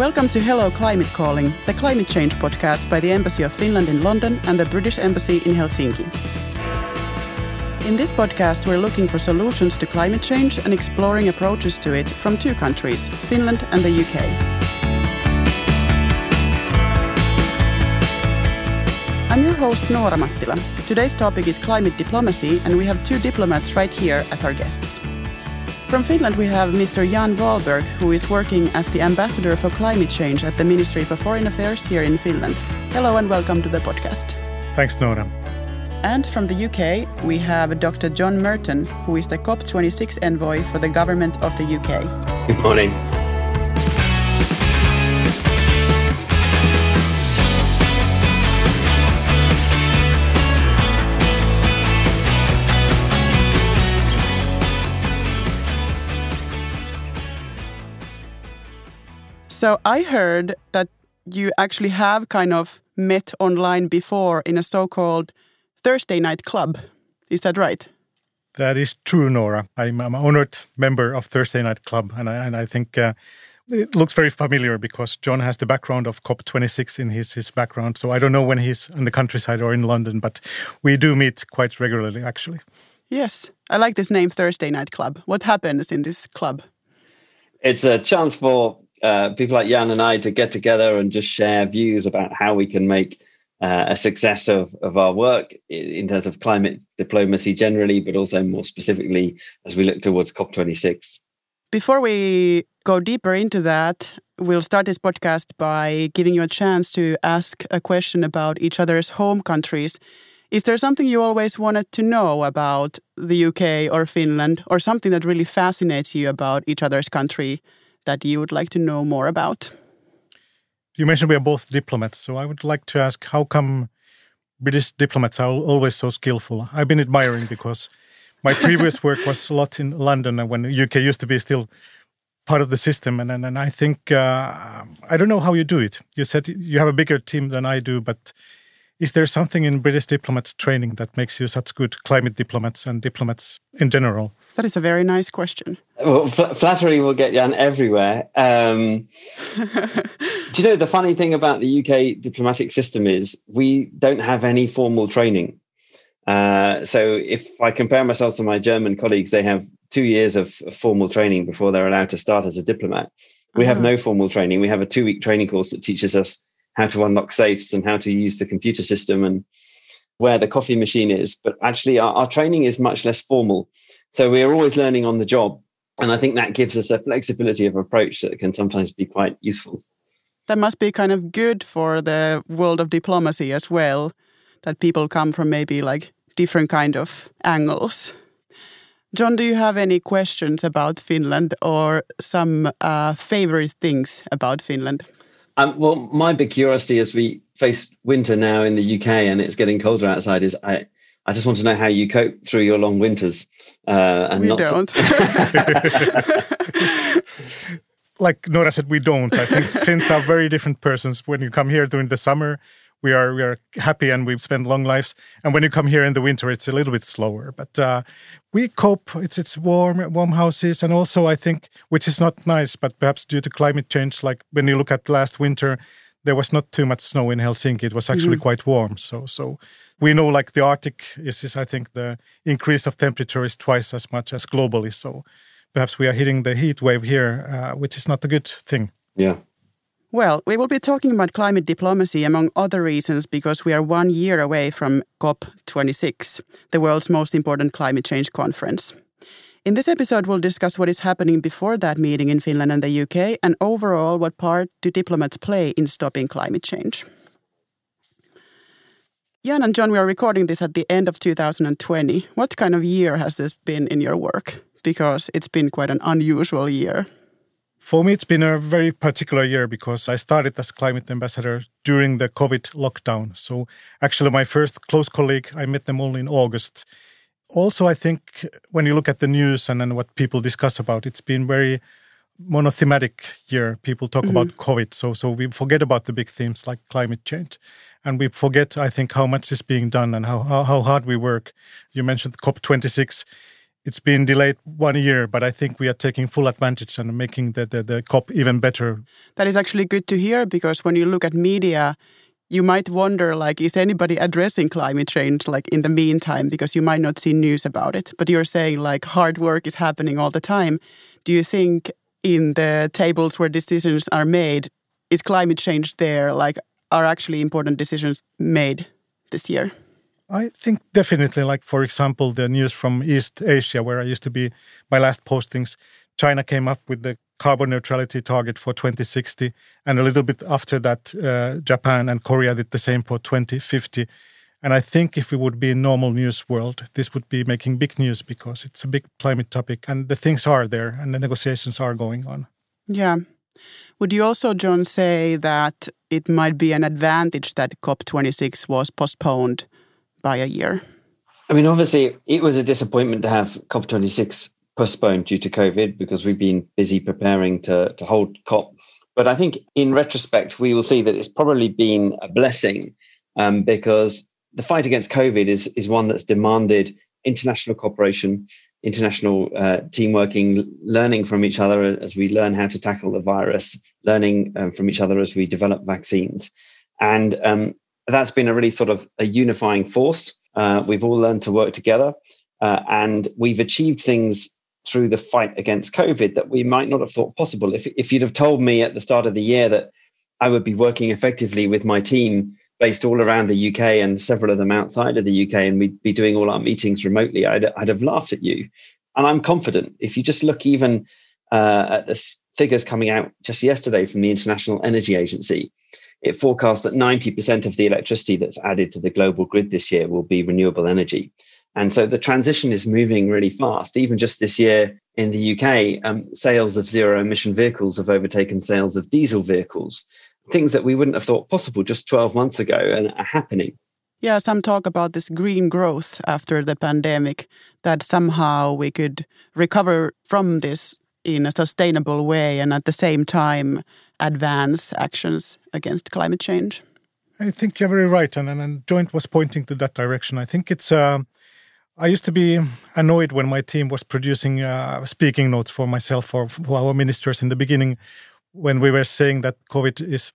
Welcome to Hello Climate Calling, the climate change podcast by the Embassy of Finland in London and the British Embassy in Helsinki. In this podcast, we're looking for solutions to climate change and exploring approaches to it from two countries, Finland and the UK. I'm your host, Noora Mattila. Today's topic is climate diplomacy, and we have two diplomats right here as our guests. From Finland, we have Mr. Jan Wahlberg, who is working as the Ambassador for Climate Change at the Ministry for Foreign Affairs here in Finland. Hello and welcome to the podcast. Thanks, Noora. And from the UK, we have Dr. John Merton, who is the COP26 envoy for the government of the UK. Good morning. So I heard that you actually have kind of met online before in a so-called Thursday night club. Is that right? That is true, Noora. I'm an honored member of Thursday Night Club, and I think it looks very familiar because John has the background of COP26 in his background. So I don't know when he's in the countryside or in London, but we do meet quite regularly, actually. Yes, I like this name, Thursday Night Club. What happens in this club? It's a chance for people like Jan and I to get together and just share views about how we can make a success of our work in terms of climate diplomacy generally, but also more specifically as we look towards COP26. Before we go deeper into that, we'll start this podcast by giving you a chance to ask a question about each other's home countries. Is there something you always wanted to know about the UK or Finland, or something that really fascinates you about each other's country that you would like to know more about? You mentioned we are both diplomats, so I would like to ask, how come British diplomats are always so skillful? I've been admiring because my previous work was a lot in London, and when the UK used to be still part of the system, and I think, I don't know how you do it. You said you have a bigger team than I do, but is there something in British diplomats training that makes you such good climate diplomats and diplomats in general? That is a very nice question. Well, flattery will get Jan everywhere. Do you know, the funny thing about the UK diplomatic system is we don't have any formal training. So if I compare myself to my German colleagues, they have 2 years of formal training before they're allowed to start as a diplomat. We have no formal training. We have a 2-week training course that teaches us how to unlock safes and how to use the computer system and where the coffee machine is. But actually, our training is much less formal. So we're always learning on the job. And I think that gives us a flexibility of approach that can sometimes be quite useful. That must be kind of good for the world of diplomacy as well, that people come from maybe like different kind of angles. John, do you have any questions about Finland or some favorite things about Finland? Well, my big curiosity as we face winter now in the UK and it's getting colder outside is I just want to know how you cope through your long winters. We don't. Like Noora said, we don't. I think Finns are very different persons. When you come here during the summer, we are happy and we spend long lives. And when you come here in the winter, it's a little bit slower. But we cope. It's warm houses. And also, I think, which is not nice, but perhaps due to climate change, like when you look at last winter, there was not too much snow in Helsinki. It was actually quite warm. So we know like the Arctic is, I think, the increase of temperature is twice as much as globally. So perhaps we are hitting the heat wave here, which is not a good thing. Yeah. Well, we will be talking about climate diplomacy among other reasons because we are 1 year away from COP26, the world's most important climate change conference. In this episode, we'll discuss what is happening before that meeting in Finland and the UK and overall what part do diplomats play in stopping climate change. Jan and John, we are recording this at the end of 2020. What kind of year has this been in your work? Because it's been quite an unusual year. For me, it's been a very particular year because I started as climate ambassador during the COVID lockdown. So actually my first close colleague, I met them only in August. Also, I think when you look at the news and then what people discuss about, it's been very monothematic year. People talk about COVID. So we forget about the big themes like climate change. And we forget, I think, how much is being done and how hard we work. You mentioned COP26. It's been delayed 1 year, but I think we are taking full advantage and making the COP even better. That is actually good to hear, because when you look at media, you might wonder, like, is anybody addressing climate change, like, in the meantime, because you might not see news about it. But you're saying, like, hard work is happening all the time. Do you think in the tables where decisions are made, is climate change there? Like, are actually important decisions made this year? I think definitely, like, for example, the news from East Asia, where I used to be, my last postings, China came up with the carbon neutrality target for 2060. And a little bit after that, Japan and Korea did the same for 2050. And I think if we would be in normal news world, this would be making big news, because it's a big climate topic and the things are there and the negotiations are going on. Yeah. Would you also, John, say that it might be an advantage that COP26 was postponed by a year? I mean, obviously, it was a disappointment to have COP26 postponed due to COVID, because we've been busy preparing to hold COP. But I think in retrospect, we will see that it's probably been a blessing, because the fight against COVID is one that's demanded international cooperation, international team working, learning from each other as we learn how to tackle the virus, learning from each other as we develop vaccines. And that's been a really sort of a unifying force. We've all learned to work together, and we've achieved things through the fight against COVID that we might not have thought possible. If you'd have told me at the start of the year that I would be working effectively with my team based all around the UK and several of them outside of the UK, and we'd be doing all our meetings remotely, I'd have laughed at you. And I'm confident. If you just look even at the figures coming out just yesterday from the International Energy Agency, it forecasts that 90% of the electricity that's added to the global grid this year will be renewable energy. And so the transition is moving really fast. Even just this year in the UK, sales of zero-emission vehicles have overtaken sales of diesel vehicles, things that we wouldn't have thought possible just 12 months ago and are happening. Yeah, some talk about this green growth after the pandemic, that somehow we could recover from this in a sustainable way and at the same time advance actions against climate change. I think you're very right, and Joint was pointing to that direction. I think it's... I used to be annoyed when my team was producing speaking notes for myself for our ministers in the beginning, when we were saying that COVID is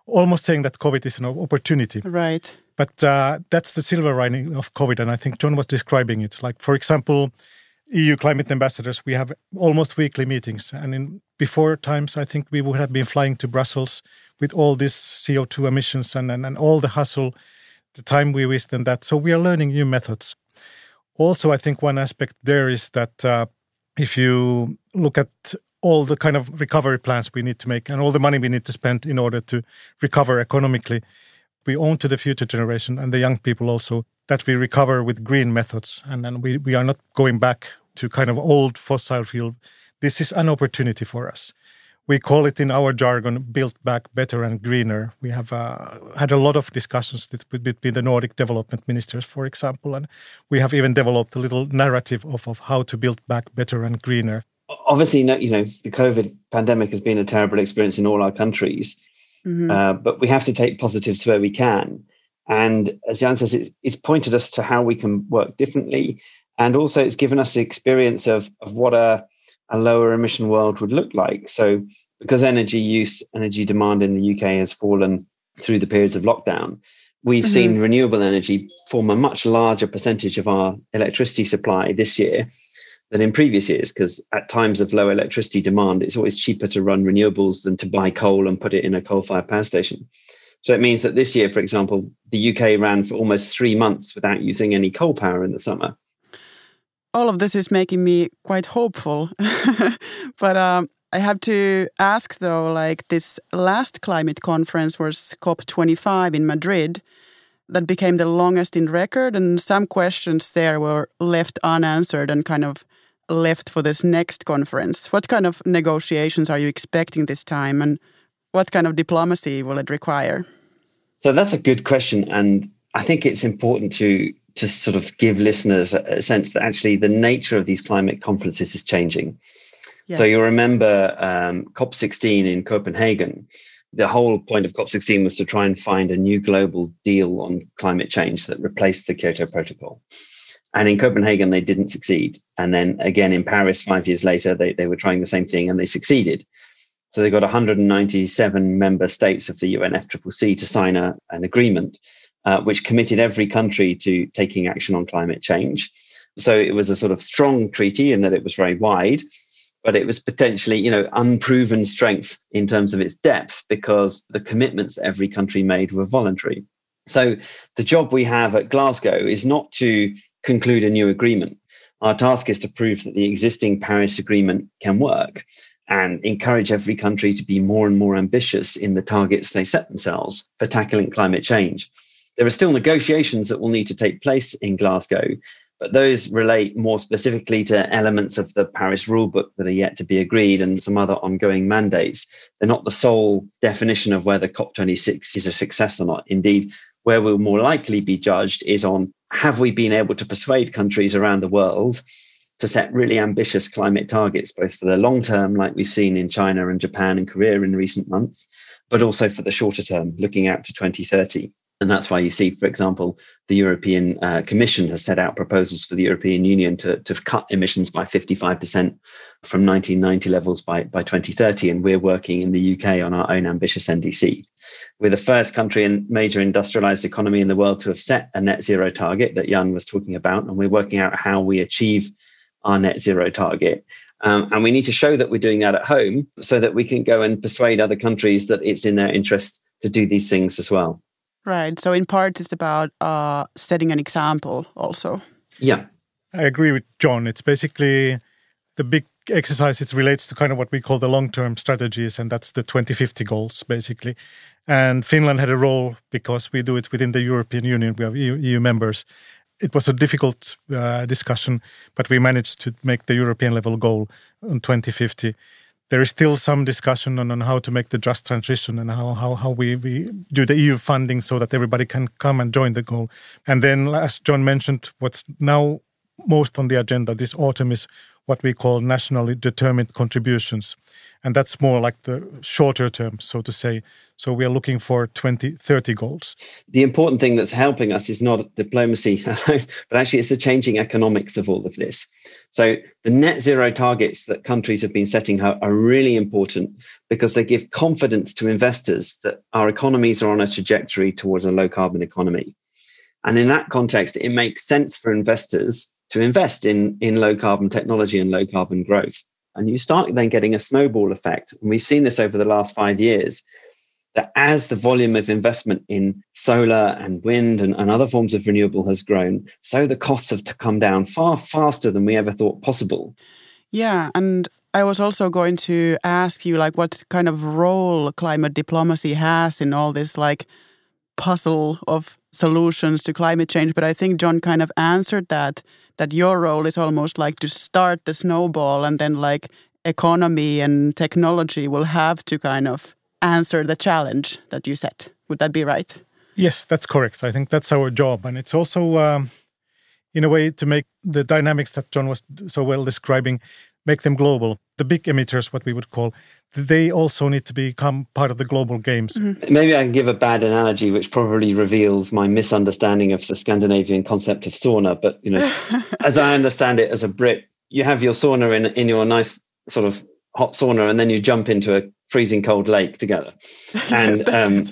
an opportunity. Right. But that's the silver lining of COVID, and I think John was describing it. Like, for example, EU climate ambassadors, we have almost weekly meetings, and in before times, I think we would have been flying to Brussels with all this CO2 emissions and all the hustle, the time we waste and that. So we are learning new methods. Also, I think one aspect there is that if you look at all the kind of recovery plans we need to make and all the money we need to spend in order to recover economically, we owe to the future generation and the young people also that we recover with green methods. And then we are not going back to kind of old fossil fuel. This is an opportunity for us. We call it in our jargon, build back better and greener. We have had a lot of discussions between the Nordic development ministers, for example, and we have even developed a little narrative of how to build back better and greener. Obviously, the COVID pandemic has been a terrible experience in all our countries, but we have to take positives where we can. And as Jan says, it's pointed us to how we can work differently. And also it's given us the experience of what a lower emission world would look like. So because energy demand in the UK has fallen through the periods of lockdown, we've seen renewable energy form a much larger percentage of our electricity supply this year than in previous years, because at times of low electricity demand, it's always cheaper to run renewables than to buy coal and put it in a coal-fired power station. So it means that this year, for example, the UK ran for almost 3 months without using any coal power in the summer. All of this is making me quite hopeful. But I have to ask, though, like, this last climate conference was COP25 in Madrid. That became the longest in record, and some questions there were left unanswered and kind of left for this next conference. What kind of negotiations are you expecting this time, and what kind of diplomacy will it require? So that's a good question, and I think it's important to sort of give listeners a sense that actually the nature of these climate conferences is changing. Yeah. So you remember COP16 in Copenhagen. The whole point of COP16 was to try and find a new global deal on climate change that replaced the Kyoto Protocol. And in Copenhagen, they didn't succeed. And then again in Paris, 5 years later, they were trying the same thing and they succeeded. So they got 197 member states of the UNFCCC to sign an agreement, which committed every country to taking action on climate change. So it was a sort of strong treaty in that it was very wide, but it was potentially, unproven strength in terms of its depth because the commitments every country made were voluntary. So the job we have at Glasgow is not to conclude a new agreement. Our task is to prove that the existing Paris Agreement can work and encourage every country to be more and more ambitious in the targets they set themselves for tackling climate change. There are still negotiations that will need to take place in Glasgow, but those relate more specifically to elements of the Paris rulebook that are yet to be agreed and some other ongoing mandates. They're not the sole definition of whether COP26 is a success or not. Indeed, where we'll more likely be judged is on have we been able to persuade countries around the world to set really ambitious climate targets, both for the long term, like we've seen in China and Japan and Korea in recent months, but also for the shorter term, looking out to 2030. And that's why you see, for example, the European Commission has set out proposals for the European Union to cut emissions by 55% from 1990 levels by 2030. And we're working in the UK on our own ambitious NDC. We're the first country and major industrialized economy in the world to have set a net zero target that Jan was talking about. And we're working out how we achieve our net zero target. And we need to show that we're doing that at home so that we can go and persuade other countries that it's in their interest to do these things as well. Right. So in part, it's about setting an example also. Yeah. I agree with John. It's basically the big exercise. It relates to kind of what we call the long-term strategies, and that's the 2050 goals, basically. And Finland had a role because we do it within the European Union. We have EU members. It was a difficult discussion, but we managed to make the European level goal on 2050. There is still some discussion on how to make the just transition and how we do the EU funding so that everybody can come and join the goal. And then, as John mentioned, what's now most on the agenda this autumn is what we call nationally determined contributions. And that's more like the shorter term, so to say. So we are looking for 2030 goals. The important thing that's helping us is not diplomacy, but actually it's the changing economics of all of this. So the net zero targets that countries have been setting are really important because they give confidence to investors that our economies are on a trajectory towards a low carbon economy. And in that context, it makes sense for investors to invest in low carbon technology and low carbon growth. And you start then getting a snowball effect. And we've seen this over the last 5 years, that as the volume of investment in solar and wind and other forms of renewable has grown, so the costs have come down far faster than we ever thought possible. Yeah, and I was also going to ask you, what kind of role climate diplomacy has in all this, puzzle of solutions to climate change. But I think John kind of answered that your role is almost to start the snowball, and then economy and technology will have to kind of answer the challenge that you set. Would that be right? Yes, that's correct. I think that's our job. And it's also, in a way, to make the dynamics that John was so well describing, make them global. The big emitters, what we would call, they also need to become part of the global games. Mm-hmm. Maybe I can give a bad analogy, which probably reveals my misunderstanding of the Scandinavian concept of sauna. But, as I understand it as a Brit, you have your sauna in your nice sort of hot sauna, and then you jump into a freezing cold lake together. And,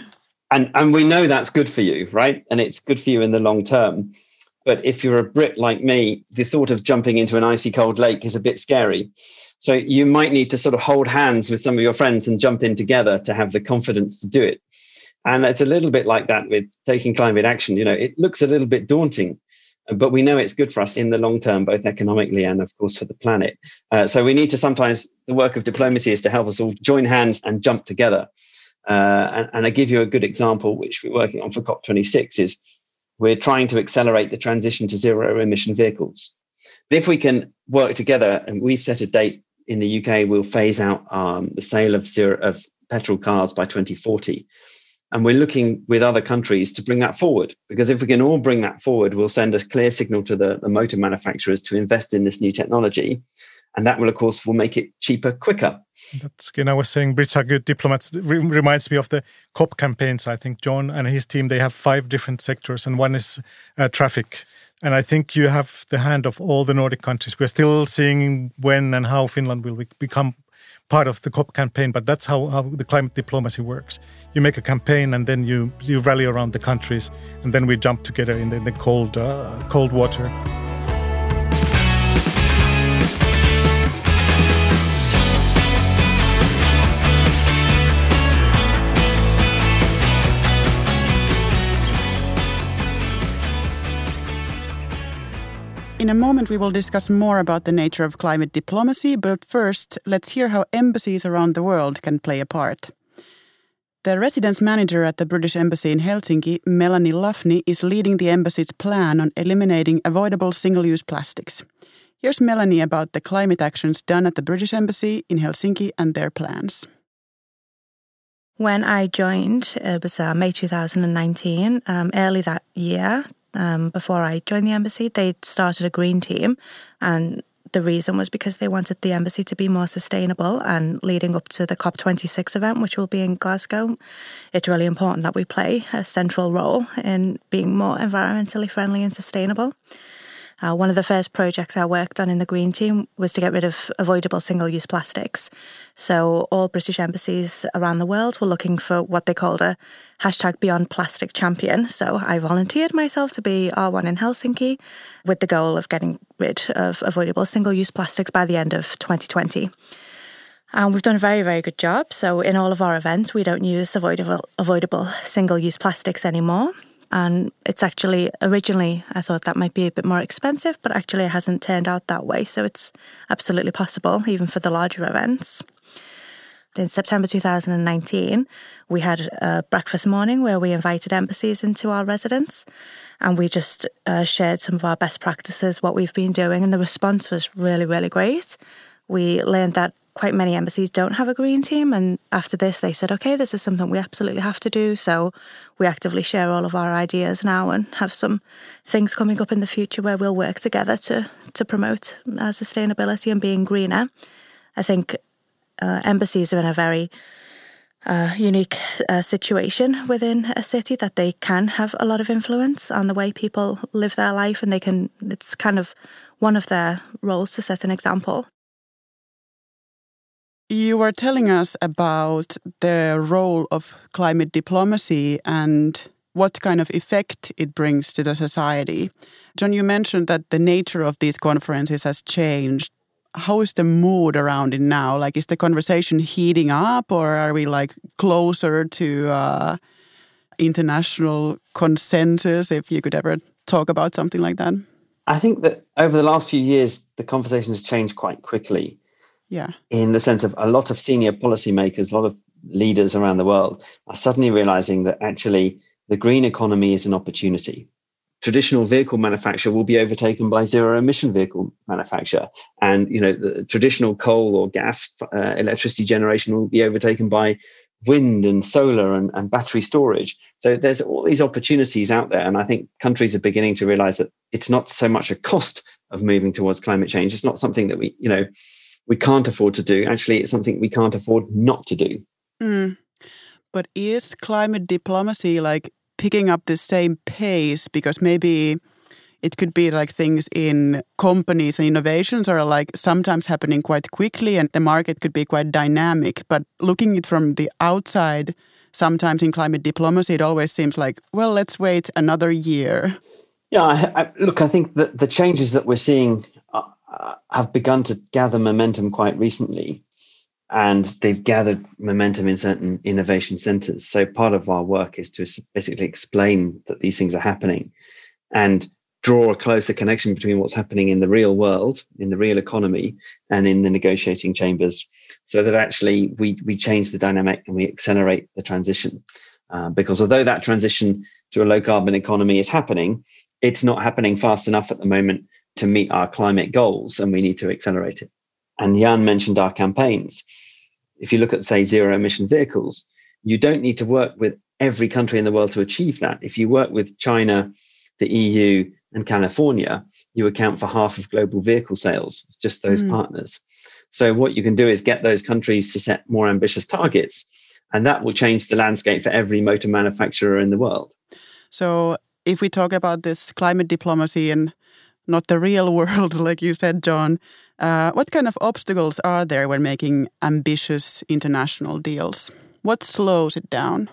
and we know that's good for you, right? And it's good for you in the long term. But if you're a Brit like me, the thought of jumping into an icy cold lake is a bit scary. So you might need to sort of hold hands with some of your friends and jump in together to have the confidence to do it. And it's a little bit like that with taking climate action. It looks a little bit daunting, but we know it's good for us in the long term, both economically and, of course, for the planet. So we need to sometimes, the work of diplomacy is to help us all join hands and jump together. And I give you a good example, which we're working on for COP26, is we're trying to accelerate the transition to zero emission vehicles. But if we can work together, and we've set a date in the UK, we'll phase out the sale of petrol cars by 2040. And we're looking with other countries to bring that forward, because if we can all bring that forward, we'll send a clear signal to the motor manufacturers to invest in this new technology. And that will, of course, will make it cheaper, quicker. That's, I was saying Brits are good diplomats. It reminds me of the COP campaigns. I think John and his team, they have 5 different sectors, and one is traffic. And I think you have the hand of all the Nordic countries. We're still seeing when and how Finland will become part of the COP campaign, but that's how the climate diplomacy works. You make a campaign and then you rally around the countries, and then we jump together in the cold water. In a moment, we will discuss more about the nature of climate diplomacy, but first, let's hear how embassies around the world can play a part. The residence manager at the British Embassy in Helsinki, Melanie Luffney, is leading the embassy's plan on eliminating avoidable single-use plastics. Here's Melanie about the climate actions done at the British Embassy in Helsinki and their plans. When I joined, it was May 2019, early that year. Before I joined the embassy, they started a green team, and the reason was because they wanted the embassy to be more sustainable. And leading up to the COP26 event, which will be in Glasgow, it's really important that we play a central role in being more environmentally friendly and sustainable. One of the first projects I worked on in the green team was to get rid of avoidable single-use plastics. So all British embassies around the world were looking for what they called a #BeyondPlastic champion. So I volunteered myself to be R1 in Helsinki with the goal of getting rid of avoidable single-use plastics by the end of 2020. And we've done a very, very good job. So in all of our events, we don't use avoidable single-use plastics anymore. And it's actually, originally, I thought that might be a bit more expensive, but actually it hasn't turned out that way. So it's absolutely possible, even for the larger events. In September 2019, we had a breakfast morning where we invited embassies into our residence, and we just shared some of our best practices, what we've been doing, and the response was really, really great. We learned that quite many embassies don't have a green team, and after this they said, okay, this is something we absolutely have to do. So we actively share all of our ideas now and have some things coming up in the future where we'll work together to promote sustainability and being greener. I think embassies are in a very unique situation within a city that they can have a lot of influence on the way people live their life, and it's kind of one of their roles to set an example. You were telling us about the role of climate diplomacy and what kind of effect it brings to the society. John, you mentioned that the nature of these conferences has changed. How is the mood around it now? Like, is the conversation heating up, or are we closer to international consensus, if you could ever talk about something like that? I think that over the last few years, the conversation has changed quite quickly. Yeah. In the sense of a lot of senior policymakers, a lot of leaders around the world are suddenly realizing that actually the green economy is an opportunity. Traditional vehicle manufacture will be overtaken by zero emission vehicle manufacture. And, the traditional coal or gas electricity generation will be overtaken by wind and solar and battery storage. So there's all these opportunities out there. And I think countries are beginning to realize that it's not so much a cost of moving towards climate change. It's not something that we can't afford to do. Actually, it's something we can't afford not to do. But is climate diplomacy picking up the same pace? Because maybe it could be things in companies and innovations are sometimes happening quite quickly, and the market could be quite dynamic. But looking at it from the outside, sometimes in climate diplomacy, it always seems well, let's wait another year. Yeah, I think that the changes that we're seeing have begun to gather momentum quite recently, and they've gathered momentum in certain innovation centers. So part of our work is to basically explain that these things are happening and draw a closer connection between what's happening in the real world, in the real economy, and in the negotiating chambers, so that actually we change the dynamic and we accelerate the transition. Because although that transition to a low carbon economy is happening, it's not happening fast enough at the moment to meet our climate goals, and we need to accelerate it. And Jan mentioned our campaigns. If you look at, say, zero emission vehicles, you don't need to work with every country in the world to achieve that. If you work with China, the EU, and California, you account for half of global vehicle sales, just those partners. So what you can do is get those countries to set more ambitious targets, and that will change the landscape for every motor manufacturer in the world. So if we talk about this climate diplomacy and not the real world, like you said, John, what kind of obstacles are there when making ambitious international deals? What slows it down?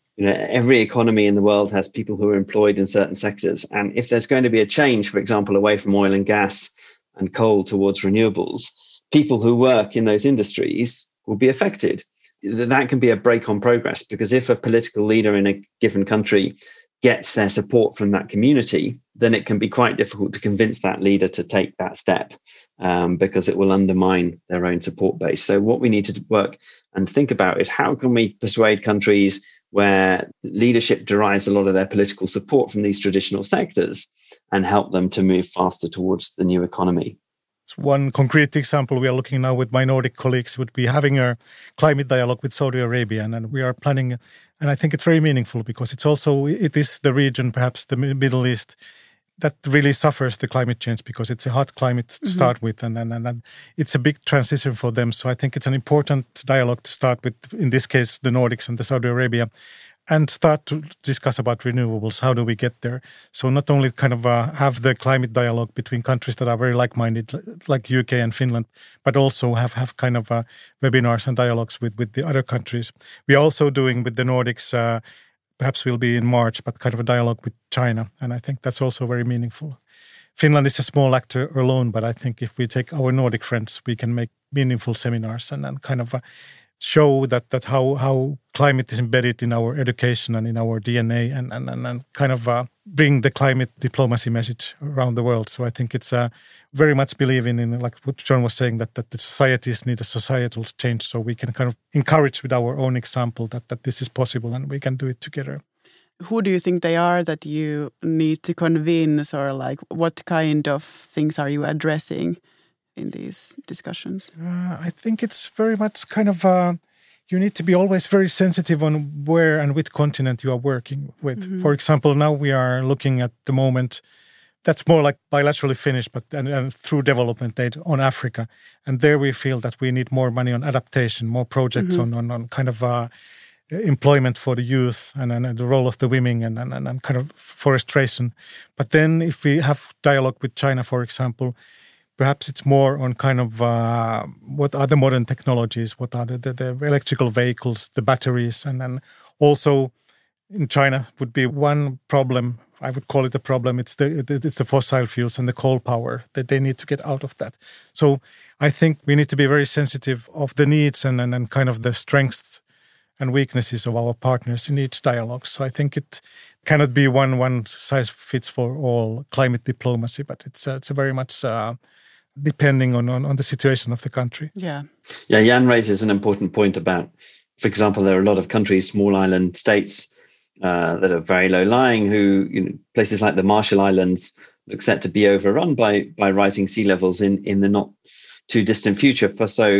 Every economy in the world has people who are employed in certain sectors. And if there's going to be a change, for example, away from oil and gas and coal towards renewables, people who work in those industries will be affected. That can be a brake on progress, because if a political leader in a given country gets their support from that community, then it can be quite difficult to convince that leader to take that step, because it will undermine their own support base. So what we need to work and think about is, how can we persuade countries where leadership derives a lot of their political support from these traditional sectors and help them to move faster towards the new economy? One concrete example we are looking now with my Nordic colleagues would be having a climate dialogue with Saudi Arabia, and we are planning, and I think it's very meaningful because it is the region, perhaps the Middle East, that really suffers the climate change, because it's a hot climate to start with, and it's a big transition for them. So I think it's an important dialogue to start with, in this case, the Nordics and the Saudi Arabia, and start to discuss about renewables. How do we get there? So not only kind of have the climate dialogue between countries that are very like-minded, like UK and Finland, but also have kind of webinars and dialogues with the other countries. We are also doing with the Nordics, perhaps will be in March, but kind of a dialogue with China. And I think that's also very meaningful. Finland is a small actor alone, but I think if we take our Nordic friends, we can make meaningful seminars and kind of show that how climate is embedded in our education and in our DNA, and kind of bring the climate diplomacy message around the world. So I think it's very much believing in, like what John was saying, that the societies need a societal change, so we can kind of encourage with our own example that this is possible and we can do it together. Who do you think they are that you need to convince, or like what kind of things are you addressing in these discussions? I think it's very much kind of you need to be always very sensitive on where and which continent you are working with. For example, now we are looking at the moment that's more like bilaterally finished, but and through development aid on Africa, and there we feel that we need more money on adaptation, more projects on kind of employment for the youth and the role of the women and kind of forestation. But then if we have dialogue with China, for example, perhaps it's more on kind of what are the modern technologies, what are the electrical vehicles, the batteries, and then also in China would be one problem. I would call it a problem. It's the fossil fuels and the coal power that they need to get out of that. So I think we need to be very sensitive of the needs and kind of the strengths and weaknesses of our partners in each dialogue. So I think it cannot be one size fits for all climate diplomacy, but it's a very much depending on the situation of the country. Yeah, Jan raises an important point about, for example, there are a lot of countries, small island states that are very low-lying, who, places like the Marshall Islands look set to be overrun by rising sea levels in the not too distant future.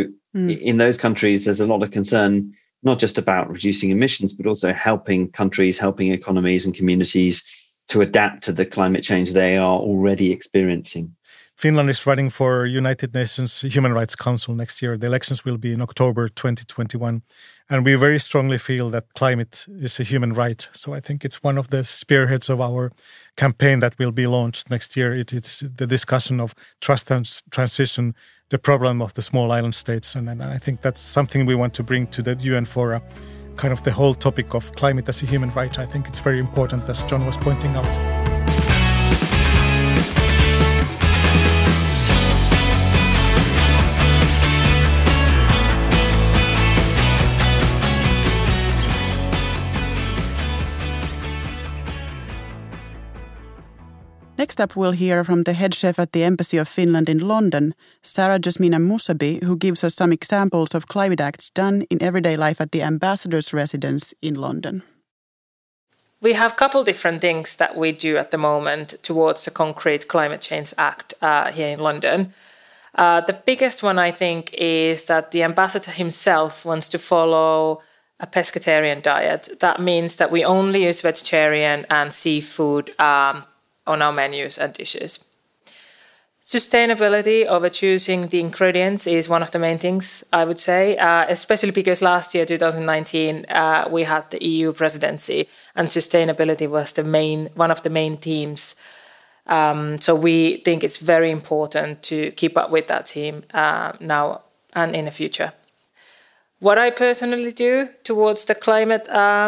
In those countries, there's a lot of concern, not just about reducing emissions, but also helping countries, helping economies and communities to adapt to the climate change they are already experiencing. Finland is running for United Nations Human Rights Council next year. The elections will be in October 2021. And we very strongly feel that climate is a human right. So I think it's one of the spearheads of our campaign that will be launched next year. It's the discussion of trust and transition, the problem of the small island states. And I think that's something we want to bring to the UN Fora, kind of the whole topic of climate as a human right. I think it's very important, as John was pointing out. Next up, we'll hear from the head chef at the Embassy of Finland in London, Sarah Jasmina Musabi, who gives us some examples of climate acts done in everyday life at the ambassador's residence in London. We have a couple different things that we do at the moment towards the concrete climate change act here in London. The biggest one, I think, is that the ambassador himself wants to follow a pescatarian diet. That means that we only use vegetarian and seafood on our menus and dishes. Sustainability over choosing the ingredients is one of the main things, I would say, especially because last year, 2019, we had the EU presidency and sustainability was one of the main themes. So we think it's very important to keep up with that theme now and in the future. What I personally do towards the climate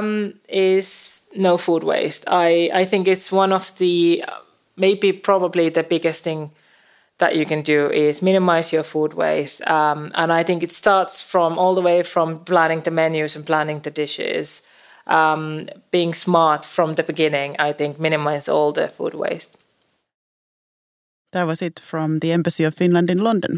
is no food waste. I think it's one of the, probably the biggest thing that you can do is minimize your food waste. And I think it starts from all the way from planning the menus and planning the dishes. Being smart from the beginning, I think, minimize all the food waste. That was it from the Embassy of Finland in London.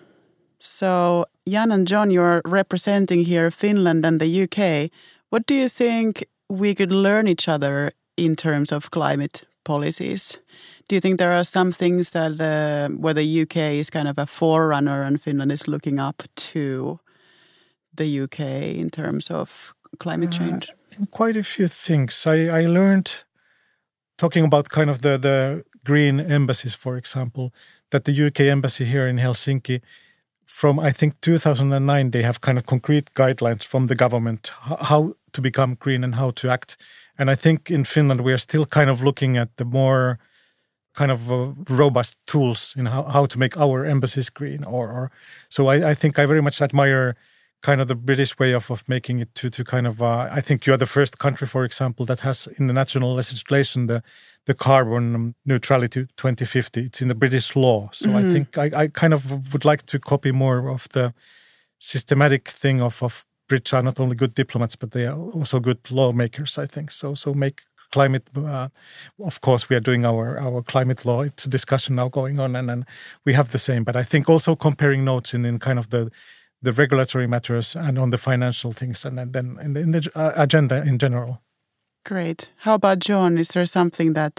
So, Jan and John, you're representing here Finland and the UK. What do you think we could learn each other in terms of climate policies? Do you think there are some things that where the UK is kind of a forerunner and Finland is looking up to the UK in terms of climate change? Quite a few things. I learned, talking about kind of the green embassies, for example, that the UK embassy here in Helsinki, from I think 2009, they have kind of concrete guidelines from the government how to become green and how to act. And I think in Finland we are still kind of looking at the more kind of robust tools in how to make our embassies green. So I think I very much admire kind of the British way of making it to kind of, I think you are the first country, for example, that has in the national legislation the carbon neutrality 2050. It's in the British law. So I think I kind of would like to copy more of the systematic thing of Brits are not only good diplomats, but they are also good lawmakers, I think. So make climate, of course, we are doing our climate law. It's a discussion now going on and we have the same. But I think also comparing notes in kind of the regulatory matters and on the financial things and then in the agenda in general. Great. How about John? Is there something that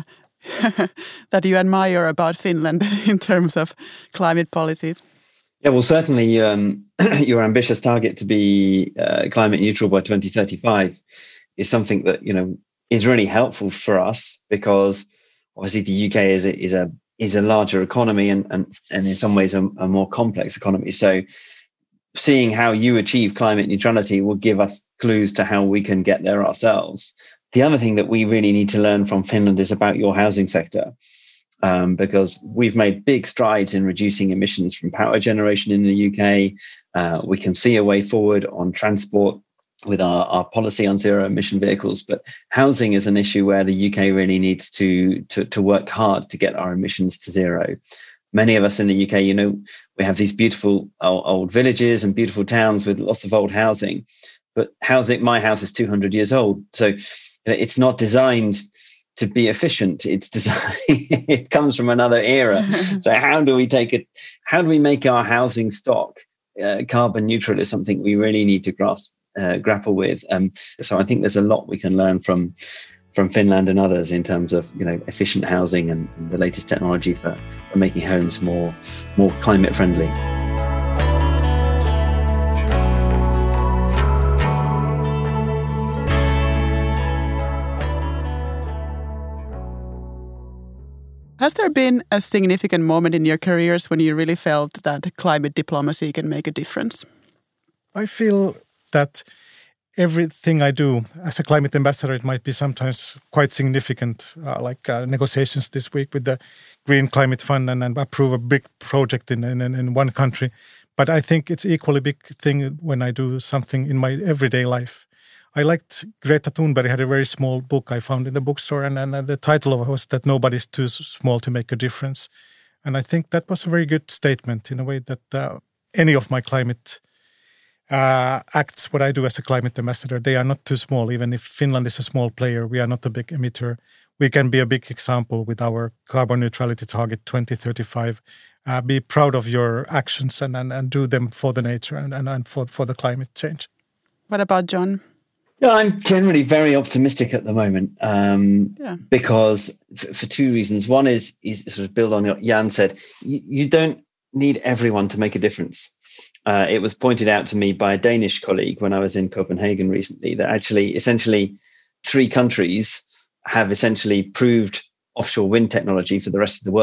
that you admire about Finland in terms of climate policies? Yeah, well, certainly your ambitious target to be climate neutral by 2035 is something that, is really helpful for us because obviously the UK is a larger economy and in some ways a more complex economy. So seeing how you achieve climate neutrality will give us clues to how we can get there ourselves. The other thing that we really need to learn from Finland is about your housing sector, because we've made big strides in reducing emissions from power generation in the UK. We can see a way forward on transport with our policy on zero emission vehicles, but housing is an issue where the UK really needs to work hard to get our emissions to zero. Many of us in the UK, we have these beautiful old villages and beautiful towns with lots of old housing, but my house is 200 years old. So it's not designed to be efficient. It's designed, it comes from another era. So how do we make our housing stock carbon neutral is something we really need to grapple with. So I think there's a lot we can learn from Finland and others in terms of efficient housing and the latest technology for making homes more climate friendly. Has there been a significant moment in your careers when you really felt that climate diplomacy can make a difference? I feel that everything I do as a climate ambassador, it might be sometimes quite significant, like negotiations this week with the Green Climate Fund and approve a big project in one country. But I think it's equally big thing when I do something in my everyday life. I liked Greta Thunberg had a very small book I found in the bookstore and the title of it was that nobody's too small to make a difference. And I think that was a very good statement in a way that any of my climate acts, what I do as a climate ambassador, they are not too small. Even if Finland is a small player, we are not a big emitter. We can be a big example with our carbon neutrality target 2035. Be proud of your actions and do them for the nature and for the climate change. What about John? Yeah, I'm generally very optimistic at the moment because for two reasons. One is sort of build on what Jan said. You don't need everyone to make a difference. It was pointed out to me by a Danish colleague when I was in Copenhagen recently that actually essentially 3 countries have essentially proved offshore wind technology for the rest of the world.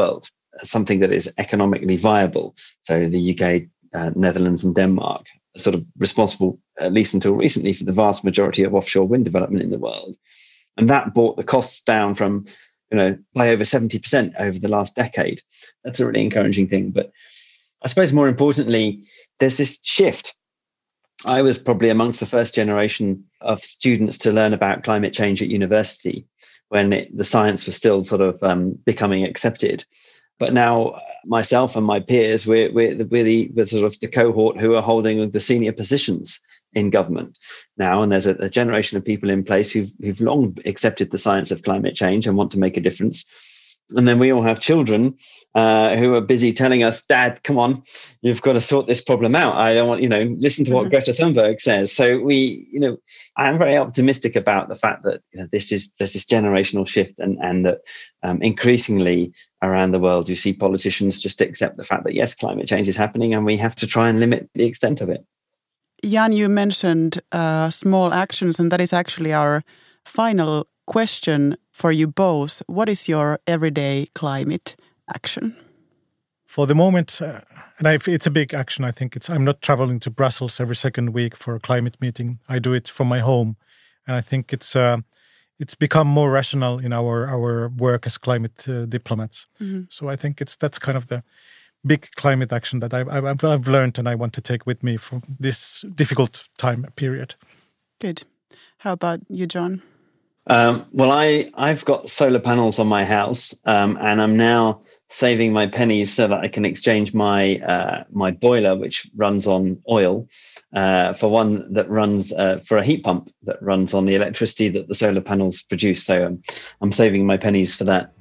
something that is economically viable. So the UK, Netherlands and Denmark are sort of responsible, at least until recently, for the vast majority of offshore wind development in the world. And that brought the costs down from, by over 70% over the last decade. That's a really encouraging thing. But I suppose more importantly, there's this shift. I was probably amongst the first generation of students to learn about climate change at university when the science was still sort of becoming accepted. But now myself and my peers, we're sort of the cohort who are holding the senior positions in government now. And there's a generation of people in place who've long accepted the science of climate change and want to make a difference. And then we all have children who are busy telling us, Dad, come on, you've got to sort this problem out. I don't want, listen to what Greta Thunberg says. So I'm very optimistic about the fact that there's this generational shift and that increasingly around the world, you see politicians just accept the fact that, yes, climate change is happening and we have to try and limit the extent of it. Jan, you mentioned small actions, and that is actually our final question for you both. What is your everyday climate action? For the moment, it's a big action, I think. I'm not traveling to Brussels every second week for a climate meeting. I do it from my home. And I think it's become more rational in our work as climate diplomats. Mm-hmm. So I think that's kind of the big climate action that I've learned and I want to take with me from this difficult time period. Good. How about you, John? Well, I've got solar panels on my house, and I'm now saving my pennies so that I can exchange my boiler, which runs on oil, for one that runs for a heat pump that runs on the electricity that the solar panels produce. So I'm saving my pennies for that.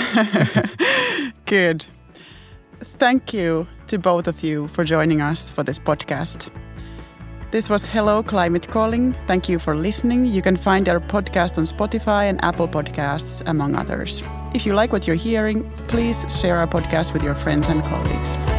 Good. Thank you to both of you for joining us for this podcast. This was Hello Climate Calling. Thank you for listening. You can find our podcast on Spotify and Apple Podcasts, among others. If you like what you're hearing, please share our podcast with your friends and colleagues.